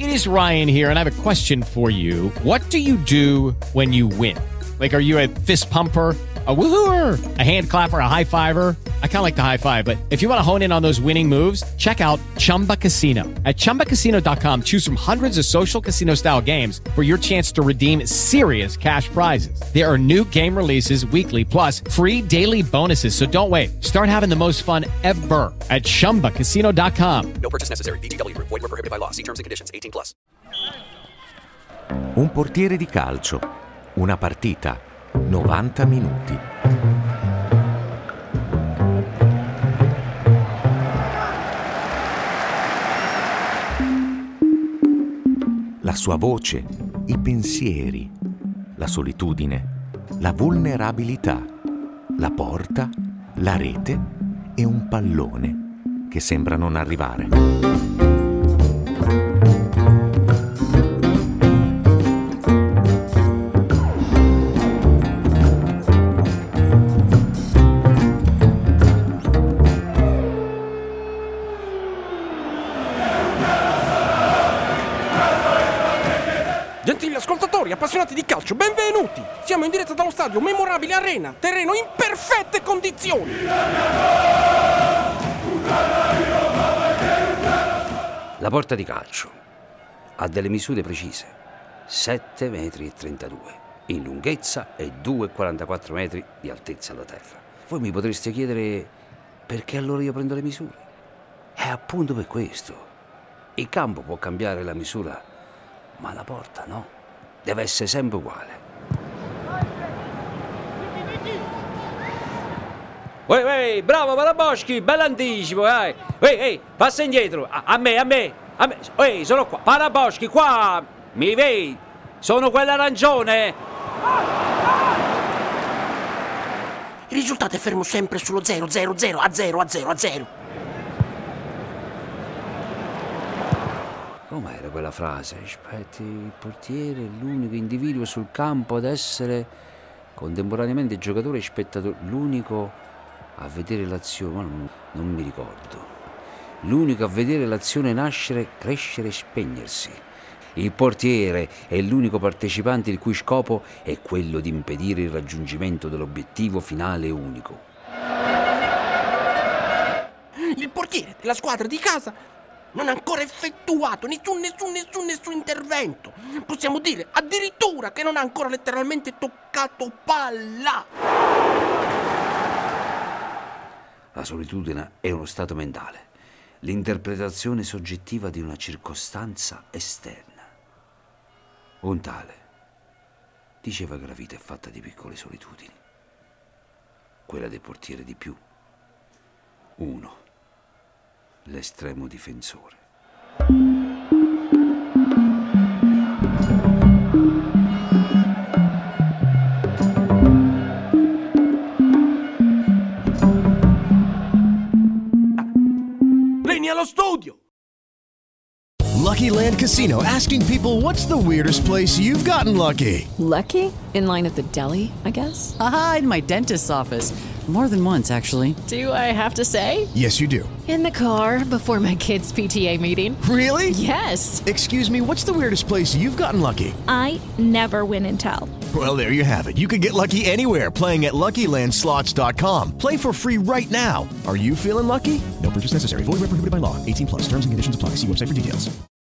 It is Ryan here, and I have a question for you. What do you do when you win? Like, are you a fist pumper, a woohooer, a hand clapper, a high fiver? I kind of like the high five, but if you want to hone in on those winning moves, check out Chumba Casino. At ChumbaCasino.com, choose from hundreds of social casino-style games for your chance to redeem serious cash prizes. There are new game releases weekly, plus free daily bonuses. So don't wait. Start having the most fun ever at ChumbaCasino.com. No purchase necessary. VGW Group. Void where prohibited by law. See terms and conditions. 18+. Un portiere di calcio. Una partita. 90 minuti. La sua voce, i pensieri, la solitudine, la vulnerabilità, la porta, la rete e un pallone che sembra non arrivare. Gentili ascoltatori, appassionati di calcio, benvenuti! Siamo in diretta dallo stadio Memorabile Arena, terreno in perfette condizioni! La porta di calcio ha delle misure precise: 7,32 metri in lunghezza e 2,44 metri di altezza da terra. Voi mi potreste chiedere perché allora io prendo le misure? È appunto per questo. Il campo può cambiare la misura, ma la porta no, deve essere sempre uguale. Uè, bravo Paraboschi, bell'anticipo, passa indietro, a me, sono qua, Paraboschi, qua, mi vedi, sono quell'arancione. Il risultato è fermo sempre sullo 0, 0, 0, a 0, a 0, a 0. Com'era quella frase? Aspetti, il portiere è l'unico individuo sul campo ad essere contemporaneamente giocatore e spettatore, l'unico a vedere l'azione, ma non mi ricordo. L'unico a vedere l'azione nascere, crescere e spegnersi. Il portiere è l'unico partecipante il cui scopo è quello di impedire il raggiungimento dell'obiettivo finale unico. Il portiere della squadra di casa non ha ancora effettuato nessun intervento. Possiamo dire addirittura che non ha ancora letteralmente toccato palla. La solitudine è uno stato mentale, l'interpretazione soggettiva di una circostanza esterna. Un tale diceva che la vita è fatta di piccole solitudini. Quella del portiere di più. 1. L'estremo difensore. Vieni allo studio! Lucky Land Casino, asking people, what's the weirdest place you've gotten lucky? Lucky? In line at the deli, I guess? Aha, in my dentist's office. More than once, actually. Do I have to say? Yes, you do. In the car before my kids' PTA meeting. Really? Yes. Excuse me, what's the weirdest place you've gotten lucky? I never win and tell. Well, there you have it. You can get lucky anywhere, playing at LuckyLandSlots.com. Play for free right now. Are you feeling lucky? No purchase necessary. Void where prohibited by law. 18+. Terms and conditions apply. See website for details.